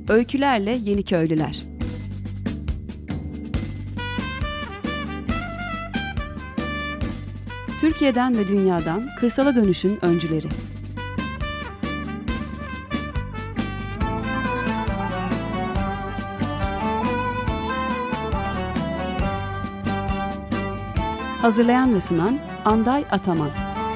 Öykülerle Yeniköylüler. Türkiye'den ve dünyadan kırsala dönüşün öncüleri. Hazırlayan ve sunan Anday Ataman.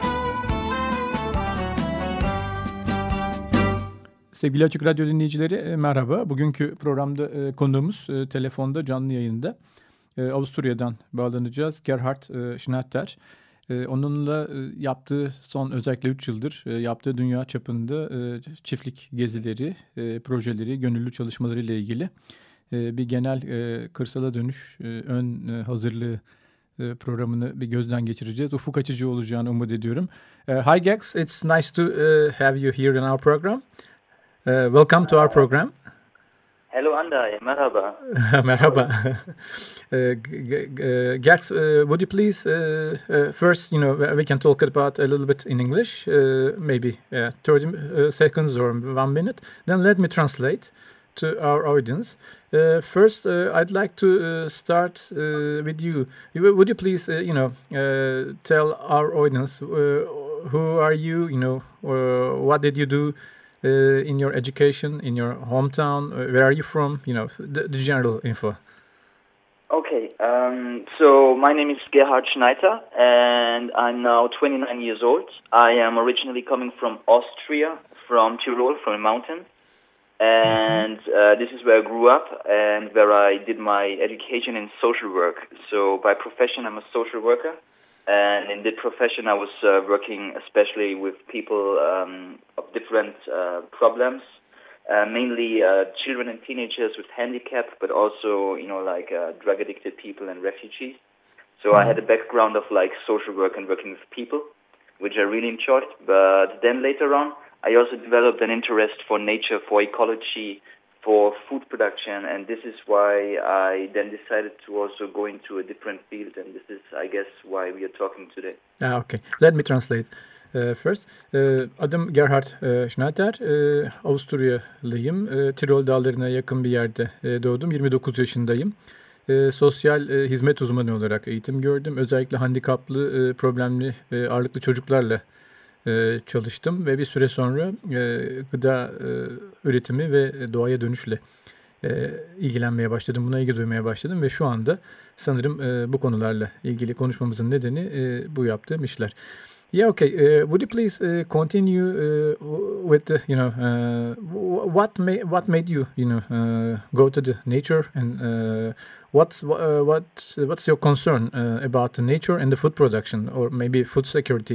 Sevgili Açık Radyo dinleyicileri merhaba. Bugünkü programda konuğumuz telefonda canlı yayında. Avusturya'dan bağlanacağız. Gerhard Schnatter. Onunla yaptığı son özellikle 3 yıldır yaptığı dünya çapında çiftlik gezileri, projeleri, gönüllü çalışmaları ile ilgili bir genel kırsala dönüş ön hazırlığı programını bir gözden geçireceğiz. Ufuk açıcı olacağını umut ediyorum. Hi Gex, it's nice to have you here in our program. Welcome to our program. Hello Anday, merhaba. Merhaba. Gex, would you please first, we can talk about a little bit in English, maybe 30 seconds or 1 minute. Then let me translate to our audience. First, I'd like to start with you. Would you please, tell our audience who are you? What did you do in your education, in your hometown? Where are you from? The general info. Okay, so my name is Gerhard Schneider, and I'm now 29 years old. I am originally coming from Austria, from Tyrol, from the mountains. And this is where I grew up and where I did my education in social work. So by profession, I'm a social worker. And in that profession, I was working especially with people of different problems, mainly children and teenagers with handicap, but also, drug-addicted people and refugees. So I had a background of social work and working with people, which I really enjoyed. But then later on, I also developed an interest for nature, for ecology, for food production, and this is why I then decided to also go into a different field, and this is, I guess, why we are talking today. Okay. Let me translate first. Adım Gerhard Schnatter, Avusturyalıyım. Tirol dağlarına yakın bir yerde doğdum. 29 yaşındayım. Sosyal hizmet uzmanı olarak eğitim gördüm. Özellikle handikaplı, problemli, ağırlıklı çocuklarla çalıştım ve bir süre sonra gıda üretimi ve doğaya dönüşle ilgilenmeye başladım. Buna ilgi duymaya başladım ve şu anda sanırım bu konularla ilgili konuşmamızın nedeni bu yaptığım işler. Yeah, okay. Would you please continue with the, what made you, go to the nature and what's your concern about the nature and the food production or maybe food security?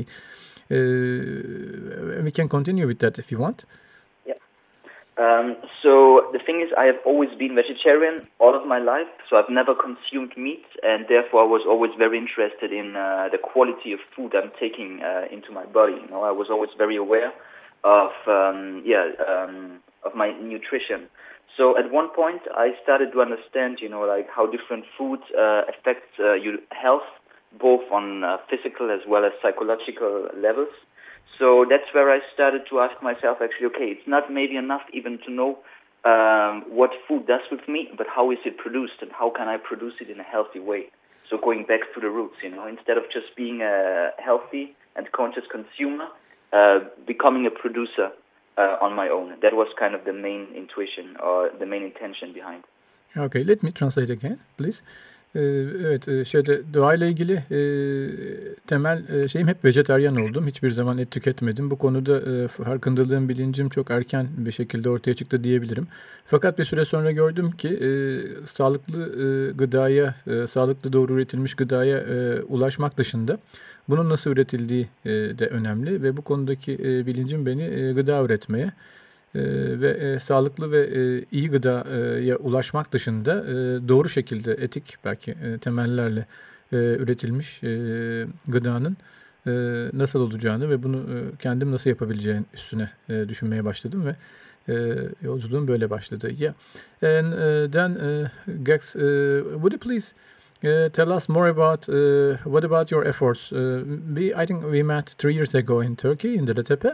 We can continue with that if you want. Yeah. So the thing is, I have always been vegetarian all of my life, so I've never consumed meat, and therefore I was always very interested in the quality of food I'm taking into my body. I was always very aware of of my nutrition. So at one point, I started to understand, how different food affects your health, both on physical as well as psychological levels. So that's where I started to ask myself, actually, okay, it's not maybe enough even to know what food does with me, but how is it produced and how can I produce it in a healthy way? So going back to the roots, instead of just being a healthy and conscious consumer, becoming a producer on my own. That was kind of the main intuition or the main intention behind. Okay, let me translate again, please. Evet, doğayla ilgili temel şeyim hep vejetaryen oldum. Hiçbir zaman et tüketmedim. Bu konuda farkındalığım, bilincim çok erken bir şekilde ortaya çıktı diyebilirim. Fakat bir süre sonra gördüm ki sağlıklı gıdaya, sağlıklı doğru üretilmiş gıdaya ulaşmak dışında bunun nasıl üretildiği de önemli ve bu konudaki bilincim beni gıda üretmeye ve sağlıklı ve iyi gıdaya ulaşmak dışında doğru şekilde etik belki temellerle üretilmiş gıdanın nasıl olacağını ve bunu kendim nasıl yapabileceğim üstüne düşünmeye başladım ve yolculuğum böyle başladı. Yeah. And then Gex, would you please tell us more about what about your efforts? I think we met 3 years ago in Turkey, in Dedetepe.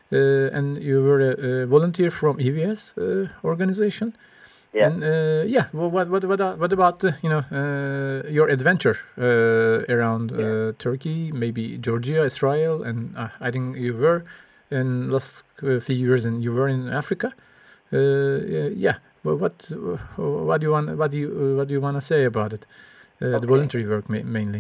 and you were a volunteer from EVS organization. Yeah. And what about your adventure around Turkey, maybe Georgia, Israel, and I think you were in last few years, and you were in Africa. Well, what do you want to say about it? The voluntary work mainly.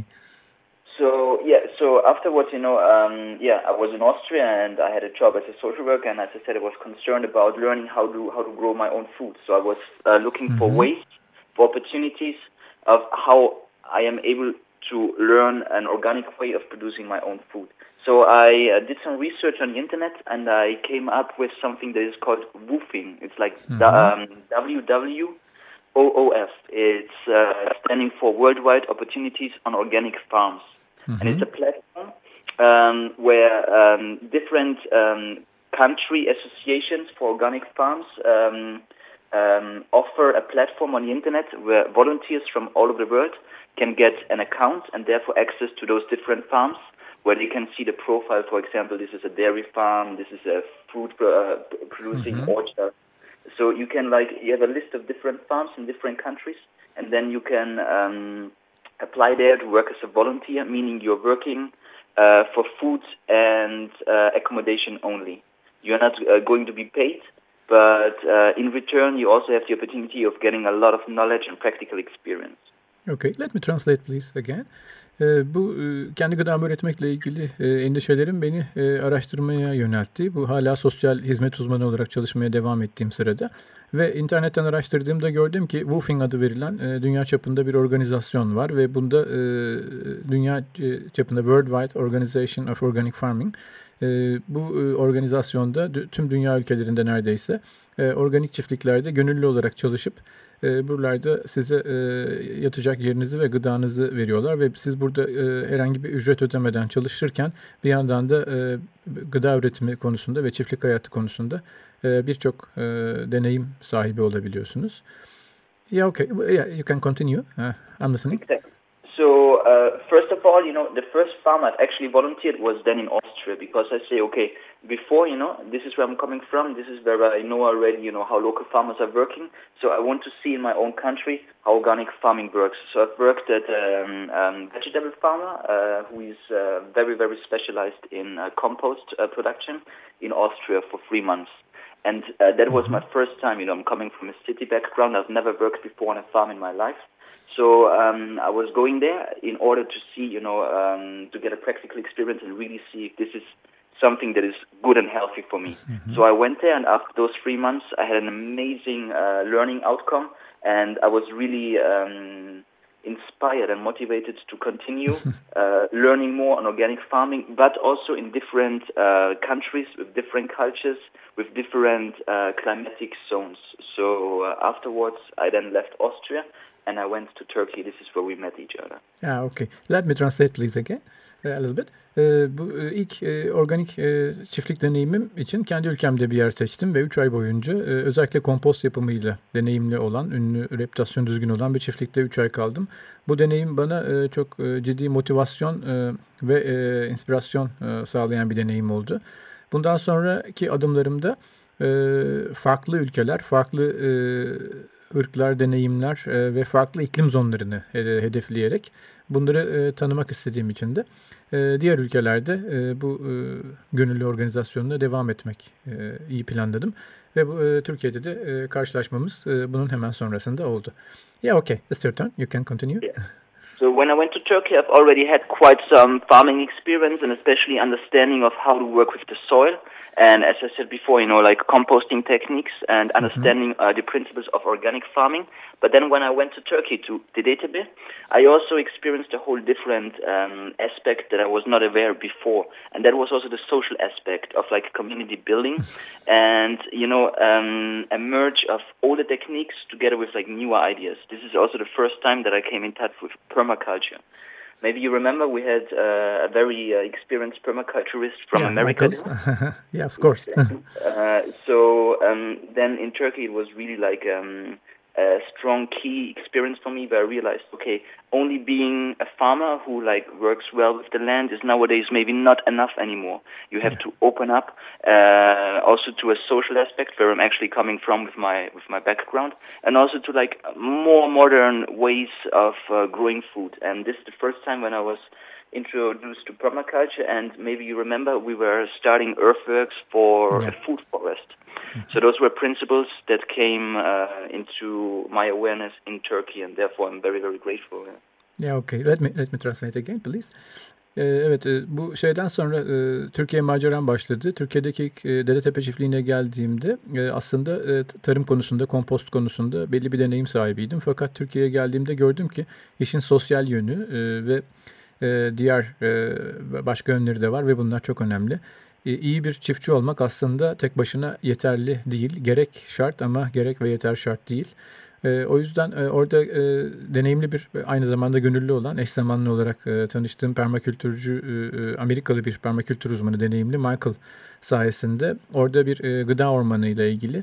So afterwards, I was in Austria and I had a job as a social worker, and as I said, I was concerned about learning how to grow my own food. So I was looking for ways, for opportunities of how I am able to learn an organic way of producing my own food. So I did some research on the internet, and I came up with something that is called WOOFing. It's like WWOOF. It's standing for Worldwide Opportunities on Organic Farms. And it's a platform where different country associations for organic farms offer a platform on the internet where volunteers from all over the world can get an account and therefore access to those different farms, where they can see the profile. For example, this is a dairy farm, this is a fruit producing orchard. So you can you have a list of different farms in different countries, and then you can apply there to work as a volunteer, meaning you're working for food and accommodation only. You're not going to be paid, but in return you also have the opportunity of getting a lot of knowledge and practical experience. Okay, let me translate please again. Bu kendi gıdamı üretmekle ilgili endişelerim beni araştırmaya yöneltti. Bu hala sosyal hizmet uzmanı olarak çalışmaya devam ettiğim sırada. Ve internetten araştırdığımda gördüm ki WOOFing adı verilen dünya çapında bir organizasyon var. Ve bunda dünya çapında Worldwide Organization of Organic Farming. Bu organizasyonda tüm dünya ülkelerinde neredeyse organik çiftliklerde gönüllü olarak çalışıp buralarda size yatacak yerinizi ve gıdanızı veriyorlar ve siz burada herhangi bir ücret ödemeden çalışırken bir yandan da gıda üretimi konusunda ve çiftlik hayatı konusunda birçok deneyim sahibi olabiliyorsunuz. Yeah, okay. Yeah, you can continue. I'm listening. Exactly. So, first of all, the first farm I've actually volunteered was then in Austria, because I say, okay, before, this is where I'm coming from, this is where I know already, how local farmers are working, so I want to see in my own country how organic farming works. So I've worked at a vegetable farmer who is very, very specialized in compost production in Austria for 3 months. And that was my first time, I'm coming from a city background. I've never worked before on a farm in my life. So I was going there in order to see, to get a practical experience and really see if this is something that is good and healthy for me. So I went there, and after those 3 months, I had an amazing learning outcome, and I was really inspired and motivated to continue learning more on organic farming, but also in different countries with different cultures, with different climatic zones. So afterwards, I then left Austria, and I went to Turkey. This is where we met each other. Okay. Let me translate please again a little bit. Bu ilk organik çiftlik deneyimim için kendi ülkemde bir yer seçtim ve 3 ay boyunca özellikle kompost yapımıyla deneyimli olan, ünlü, reputasyon düzgün olan bir çiftlikte 3 ay kaldım. Bu deneyim bana çok ciddi motivasyon ve inspirasyon sağlayan bir deneyim oldu. Bundan sonraki adımlarımda farklı ülkeler, farklı ırklar, deneyimler ve farklı iklim zonlarını hedefleyerek bunları tanımak istediğim için de diğer ülkelerde bu gönüllü organizasyonuna devam etmek iyi planladım. Ve bu Türkiye'de de karşılaşmamız bunun hemen sonrasında oldu. Yeah, okay. It's your turn. You can continue. Yeah. So when I went to Turkey, I've already had quite some farming experience and especially understanding of how to work with the soil. And as I said before, like composting techniques and understanding the principles of organic farming. But then when I went to Turkey, to Dedeytepe, I also experienced a whole different aspect that I was not aware before. And that was also the social aspect of community building and, a merge of older techniques together with newer ideas. This is also the first time that I came in touch with permaculture. Maybe you remember we had a very experienced permaculturist from America. Yeah, of course. So then in Turkey it was really a strong key experience for me, where I realized, okay, only being a farmer who like works well with the land is nowadays maybe not enough anymore. You have to open up also to a social aspect where I'm actually coming from with my background, and also to like more modern ways of growing food. And this is the first time when I was introduced to permaculture, and maybe you remember we were starting earthworks for a food forest. So those were principles that came into my awareness in Turkey, and therefore I'm very, very grateful. Yeah, okay. Let me translate again, please. Evet, bu şeyden sonra Türkiye maceram başladı. Türkiye'deki ilk Dedetepe çiftliğine geldiğimde aslında tarım konusunda, kompost konusunda belli bir deneyim sahibiydim. Fakat Türkiye'ye geldiğimde gördüm ki işin sosyal yönü ve diğer başka yönleri de var ve bunlar çok önemli. İyi bir çiftçi olmak aslında tek başına yeterli değil. Gerek şart ama gerek ve yeter şart değil. O yüzden orada deneyimli bir, aynı zamanda gönüllü olan, eş zamanlı olarak tanıştığım permakültürcü, Amerikalı bir permakültür uzmanı, deneyimli Michael sayesinde orada bir gıda ormanı ile ilgili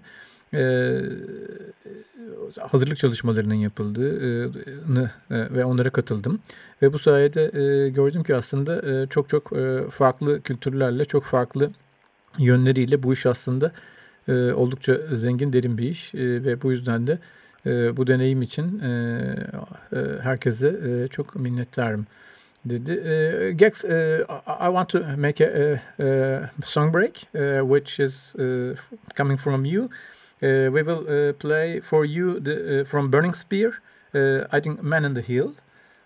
hazırlık çalışmalarının yapıldığını ve onlara katıldım. Ve bu sayede gördüm ki aslında çok farklı kültürlerle, çok farklı yönleriyle bu iş aslında oldukça zengin, derin bir iş. Ve bu yüzden de bu deneyim için herkese çok minnettarım dedi. Gex, I want to make a song break, which is coming from you. We will play for you from Burning Spear, I think Man in the Hill.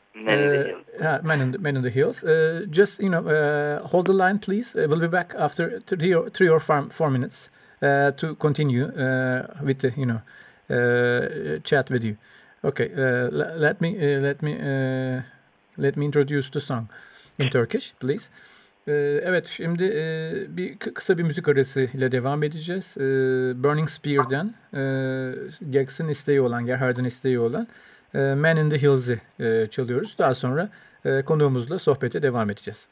Man in the Hills. Just, hold the line, please. We'll be back after 3 or 4 minutes to continue with the, chat with you. Okay, let me introduce the song in Turkish, please. Evet, şimdi kısa bir müzik arası ile devam edeceğiz. Burning Spear'den Gex'in isteği olan, Gerhard'ın isteği olan Man in the Hills'i çalıyoruz. Daha sonra konuğumuzla sohbete devam edeceğiz.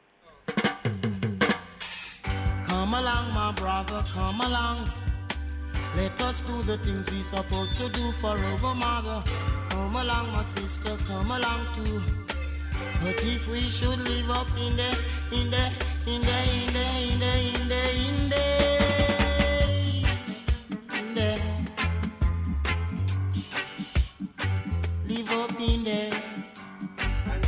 Come along, my brother, come along. Let us do the things we supposed to do for our mother. Come along, my sister, come along too. But if we should live up in the live up in there. And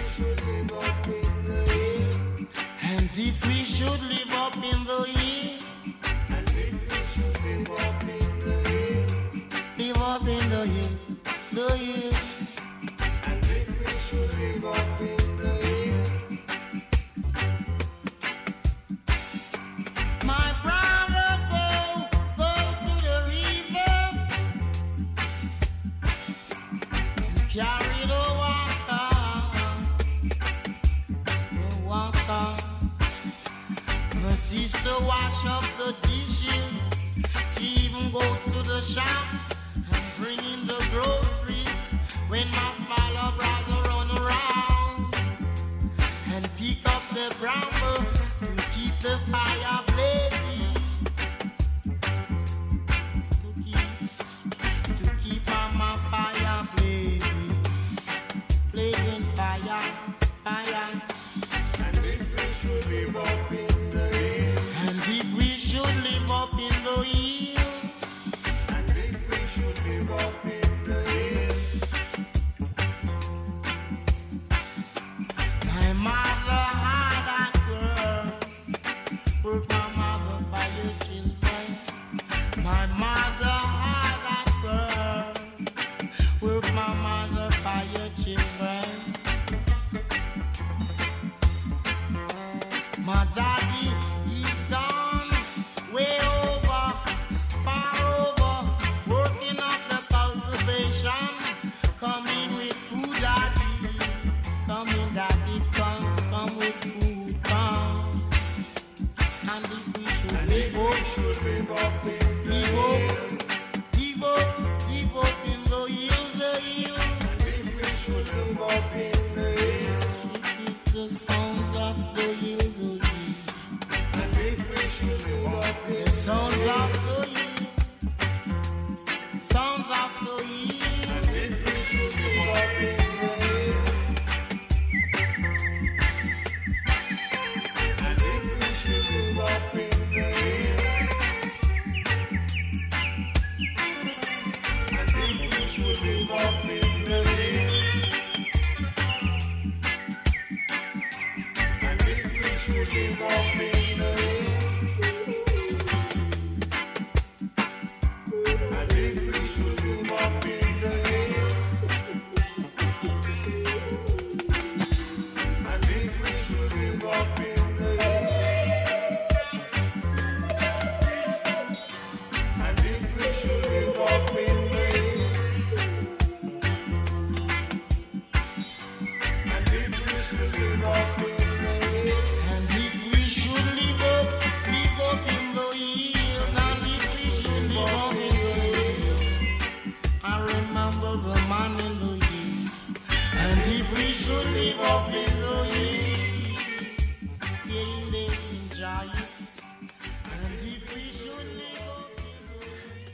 if we should live up in the hill, and if we should live up in the hill, live up in the hills, the hills. And if we should live up in the hills, my brother, go to the river to carry the water. My sister wash up the dishes. She even goes to the shop and bring in the groceries. When my smaller brother run around and pick up the bramble to keep the fire blazing, to keep my fire blazing, blazing fire. And if we should live up in the hill, and if we should live up in the hill, and if we should live up in the hill, my mother had that girl, work my mother for your children. My mother had that girl, work my mother for your children. My daddy, he's gone way over, far over, working up the cultivation. Coming with food, daddy. Coming, daddy, come with food, come. And if we should live up in the hills, live up in the hills. And if we should live up in the hills, this is the sounds of the hills. The sounds of the hill, sounds of the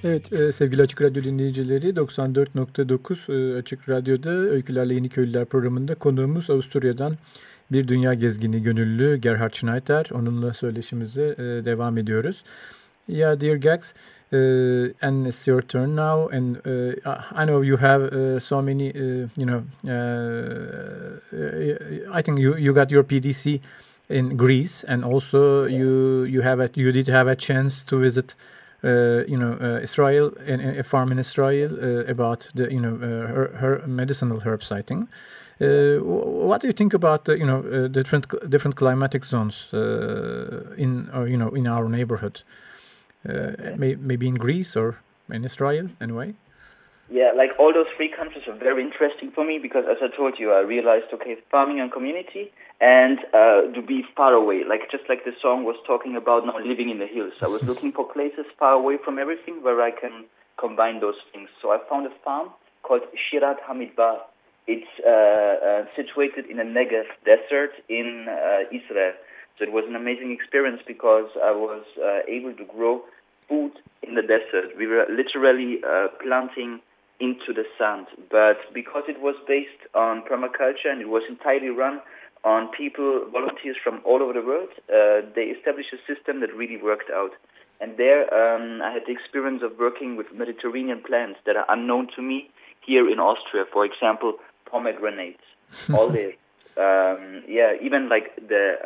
Evet, sevgili Açık Radyo dinleyicileri, 94.9 Açık Radyo'da Öykülerle Yeniköylüler programında konuğumuz Avusturya'dan bir dünya gezgini gönüllü Gerhard Schneider. Onunla söyleşimize devam ediyoruz. Yeah, dear Gags, and it's your turn now, and I know you have so many, I think you got your PDC in Greece, and also you did have a chance to visit Israel and a farm in Israel about the her medicinal herb sighting. What do you think about the different climatic zones in our neighborhood? Maybe in Greece or in Israel, anyway. Yeah, like all those three countries are very interesting for me because, as I told you, I realized, okay, farming and community and to be far away, just like the song was talking about now living in the hills. I was looking for places far away from everything where I can combine those things. So I found a farm called Shirat Hamidbar. It's situated in a Negev desert in Israel. So it was an amazing experience because I was able to grow food in the desert. We were literally planting into the sand, but because it was based on permaculture and it was entirely run on people, volunteers from all over the world, they established a system that really worked out. And there I had the experience of working with Mediterranean plants that are unknown to me here in Austria. For example, pomegranates, olives, even like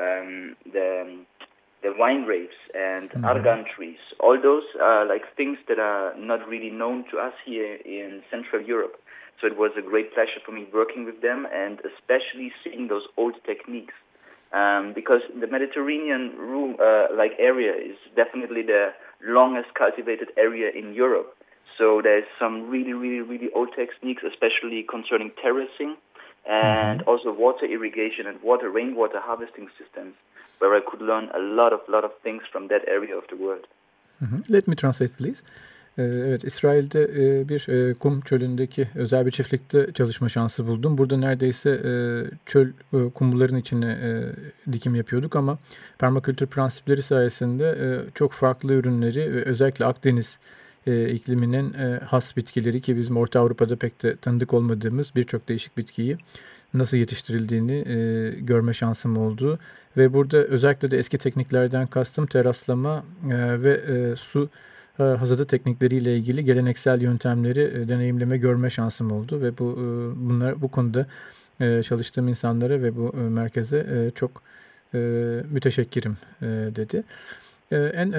the wine grapes and argan trees. All those are like things that are not really known to us here in Central Europe. So it was a great pleasure for me working with them and especially seeing those old techniques. Because the Mediterranean area is definitely the longest cultivated area in Europe. So there's some really, really, really old techniques, especially concerning terracing and also water irrigation and rainwater harvesting systems, where I could learn a lot of things from that area of the world. Let me translate, please. Evet, İsrail'de bir kum çölündeki özel bir çiftlikte çalışma şansı buldum. Burada neredeyse çöl kumların içine dikim yapıyorduk ama permakültür prensipleri sayesinde çok farklı ürünleri ve özellikle Akdeniz ikliminin has bitkileri ki bizim Orta Avrupa'da pek de tanıdık olmadığımız birçok değişik bitkiyi nasıl yetiştirildiğini görme şansım oldu. Ve burada özellikle de eski tekniklerden kastım teraslama ve su hasadı teknikleriyle ilgili geleneksel yöntemleri deneyimleme görme şansım oldu ve bu konuda çalıştığım insanlara ve bu merkeze çok müteşekkirim dedi. And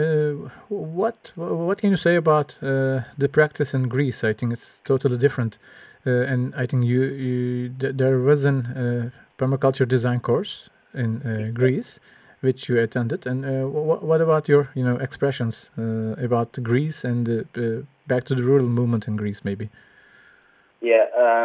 what can you say about the practice in Greece? I think it's totally different, and I think there was a permaculture design course in Greece, which you attended. And what about your expressions about Greece and back to the rural movement in Greece, maybe? Yeah.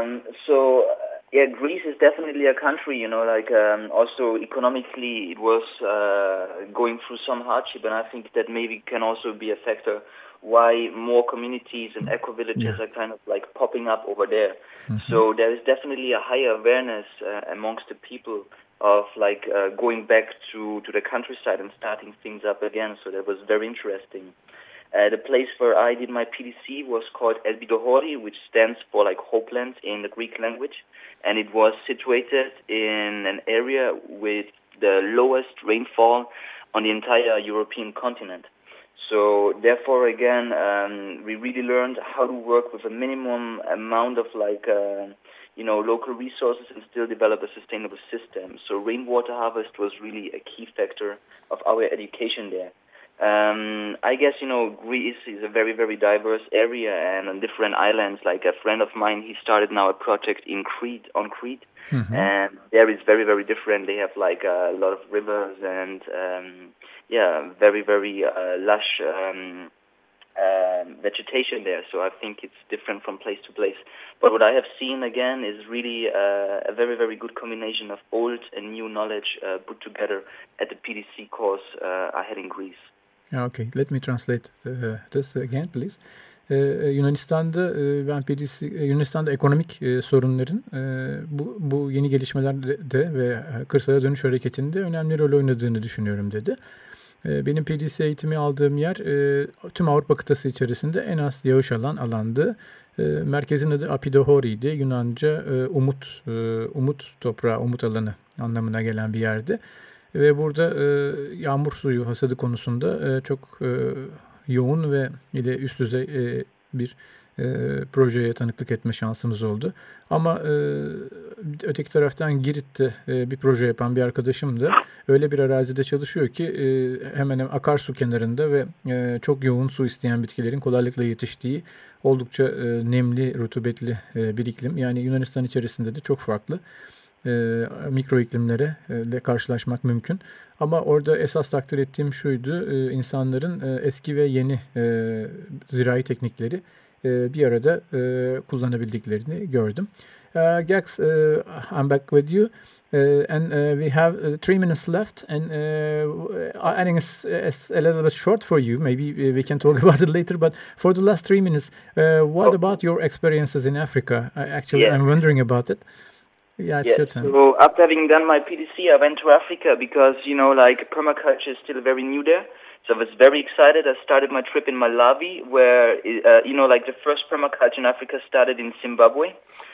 Greece is definitely a country, also economically it was going through some hardship, and I think that maybe can also be a factor why more communities and eco-villages are kind of like popping up over there. So there is definitely a higher awareness amongst the people of going back to the countryside and starting things up again. So that was very interesting. The place where I did my PDC was called Elbidohori, which stands for Hopeland in the Greek language. And it was situated in an area with the lowest rainfall on the entire European continent. So therefore, again, we really learned how to work with a minimum amount of local resources and still develop a sustainable system. So rainwater harvest was really a key factor of our education there. I guess, Greece is a very, very diverse area and on different islands. Like a friend of mine, he started now a project on Crete. And there is very, very different. They have a lot of rivers and, very, very lush vegetation there. So I think it's different from place to place. But what I have seen, again, is really a very, very good combination of old and new knowledge put together at the PDC course I had in Greece. Okay, let me translate this again, please. Yunanistan'da ekonomik sorunların bu yeni gelişmelerde ve kırsala dönüş hareketinde önemli rol oynadığını düşünüyorum dedi. Benim PDC eğitimi aldığım yer tüm Avrupa kıtası içerisinde en az yağış alan alandı. Merkezin adı Apidohori'ydi. Yunanca umut toprağı, umut alanı anlamına gelen bir yerdi. Ve burada yağmur suyu hasadı konusunda çok yoğun ve üst düzey bir projeye tanıklık etme şansımız oldu. Ama öteki taraftan Girit'te bir proje yapan bir arkadaşım da öyle bir arazide çalışıyor ki hemen hemen akarsu kenarında ve çok yoğun su isteyen bitkilerin kolaylıkla yetiştiği oldukça nemli, rutubetli bir iklim. Yani Yunanistan içerisinde de çok farklı mikro iklimlere karşılaşmak mümkün. Ama orada esas takdir ettiğim şuydu, insanların eski ve yeni zirai teknikleri bir arada kullanabildiklerini gördüm. Gax, I'm back with you. And we have 3 minutes left, and I think it's a little bit short for you. Maybe we can talk about it later. But for the last 3 minutes, what about your experiences in Africa? I'm wondering about it. Yeah, it's your turn. So after having done my PDC, I went to Africa because, permaculture is still very new there. So I was very excited. I started my trip in Malawi, where, the first permaculture in Africa started in Zimbabwe,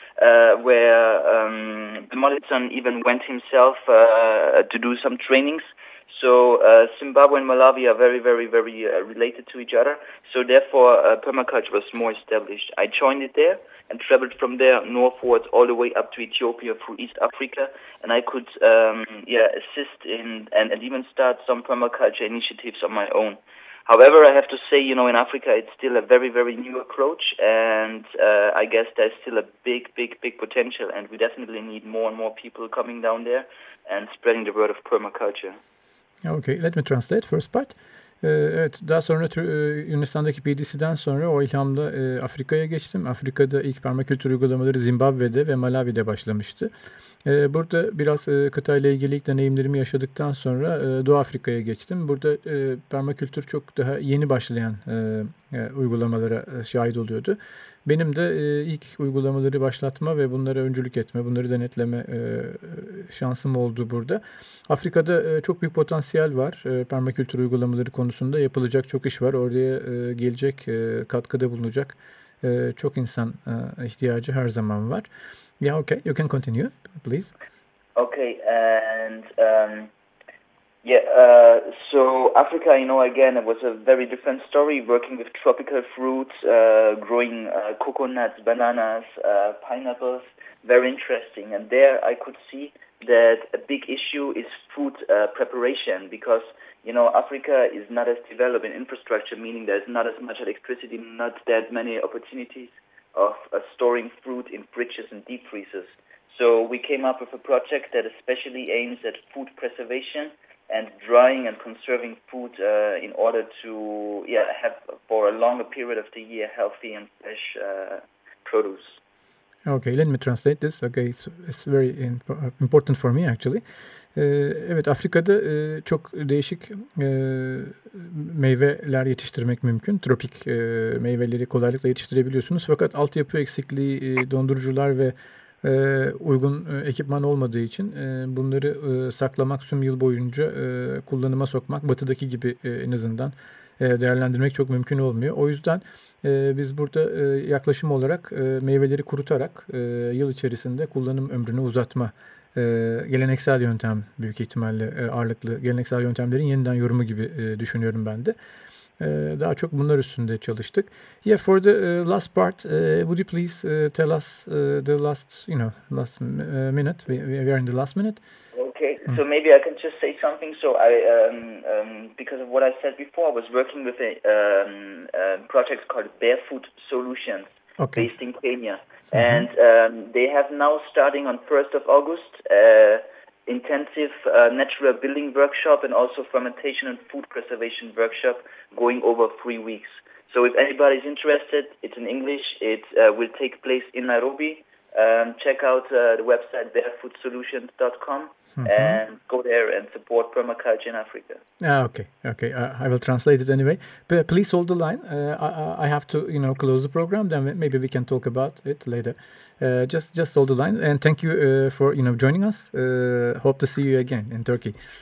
where the Molitson even went himself to do some trainings. So Zimbabwe and Malawi are very, very, very related to each other. So therefore, permaculture was more established. I joined it there and traveled from there northwards all the way up to Ethiopia through East Africa. And I could assist in and even start some permaculture initiatives on my own. However, I have to say, in Africa, it's still a very, very new approach. And I guess there's still a big, big, big potential. And we definitely need more and more people coming down there and spreading the word of permaculture. Okay, let me translate first part. Evet, daha sonra Yunanistan'daki PDC'den sonra o ilhamla Afrika'ya geçtim. Afrika'da ilk permakültür uygulamaları Zimbabwe'de ve Malawi'de başlamıştı. Burada biraz kıtayla ilgili ilk deneyimlerimi yaşadıktan sonra Doğu Afrika'ya geçtim. Burada permakültür çok daha yeni başlayan uygulamalara şahit oluyordu. Benim de ilk uygulamaları başlatma ve bunlara öncülük etme, bunları denetleme şansım oldu burada. Afrika'da çok büyük potansiyel var. Permakültür uygulamaları konusunda yapılacak çok iş var. Oraya gelecek, katkıda bulunacak çok insan ihtiyacı her zaman var. Yeah, okay. You can continue, please. Okay, and so Africa, again, it was a very different story, working with tropical fruits, growing coconuts, bananas, pineapples, very interesting. And there I could see that a big issue is food preparation because, Africa is not as developed in infrastructure, meaning there's not as much electricity, not that many opportunities of storing fruit in fridges and deep freezers. So we came up with a project that especially aims at food preservation and drying and conserving food in order to have for a longer period of the year healthy and fresh produce. Okay, let me translate this. Okay, it's very important for me actually. Evet, Afrika'da çok değişik meyveler yetiştirmek mümkün. Tropik meyveleri kolaylıkla yetiştirebiliyorsunuz. Fakat altyapı eksikliği, dondurucular ve uygun ekipman olmadığı için bunları saklamak, tüm yıl boyunca kullanıma sokmak, batıdaki gibi en azından değerlendirmek çok mümkün olmuyor. O yüzden biz burada yaklaşım olarak meyveleri kurutarak yıl içerisinde kullanım ömrünü uzatma, geleneksel yöntem büyük ihtimalle ağırlıklı geleneksel yöntemlerin yeniden yorumu gibi düşünüyorum ben de. Daha çok bunlar üstünde çalıştık. Yeah, for the last part, would you please tell us the last minute? We are in the last minute. Okay, so maybe I can just say something. So I, because of what I said before, I was working with a project called Barefoot Solutions, based in Kenya. And they have now, starting on 1st of August, intensive natural building workshop and also fermentation and food preservation workshop going over 3 weeks. So if anybody's interested, it's in English. It will take place in Nairobi. Check out the website barefootsolutions.com and go there and support permaculture in Africa. Okay. I will translate it anyway. But please hold the line. I have to, close the program. Then maybe we can talk about it later. Just hold the line. And thank you for, joining us. Hope to see you again in Turkey.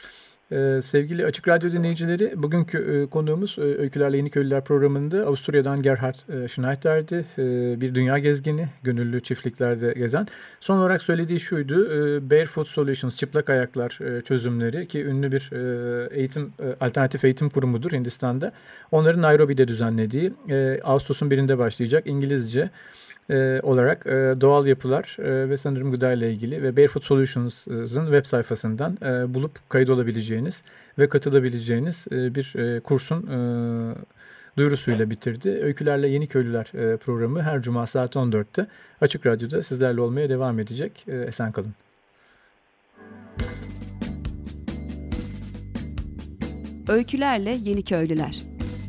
Sevgili Açık Radyo dinleyicileri, bugünkü konuğumuz Öykülerle Yeniköylüler programında Avusturya'dan Gerhard Schneider'di. Bir dünya gezgini, gönüllü çiftliklerde gezen. Son olarak söylediği şuydu: Barefoot Solutions, çıplak ayaklar çözümleri, ki ünlü bir alternatif eğitim kurumudur Hindistan'da. Onların Nairobi'de düzenlediği, Ağustos'un 1'inde başlayacak İngilizce olarak doğal yapılar ve sanırım gıda ile ilgili ve Barefoot Solutions'ın web sayfasından bulup kaydolabileceğiniz ve katılabileceğiniz bir kursun duyurusuyla bitirdi. Öykülerle Yeniköylüler programı her cuma saat 14'te Açık Radyo'da sizlerle olmaya devam edecek. Esen kalın. Öykülerle Yeniköylüler.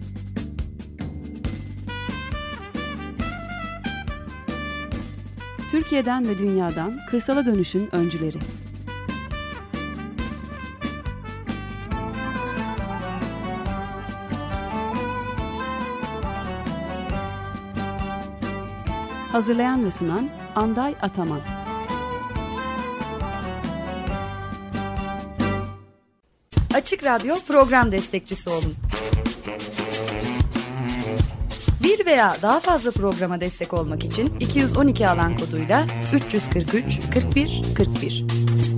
Türkiye'den ve dünyadan kırsala dönüşün öncüleri. Hazırlayan ve sunan Anday Ataman. Açık Radyo program destekçisi olun. Bir veya daha fazla programa destek olmak için 212 alan koduyla 343 41 41.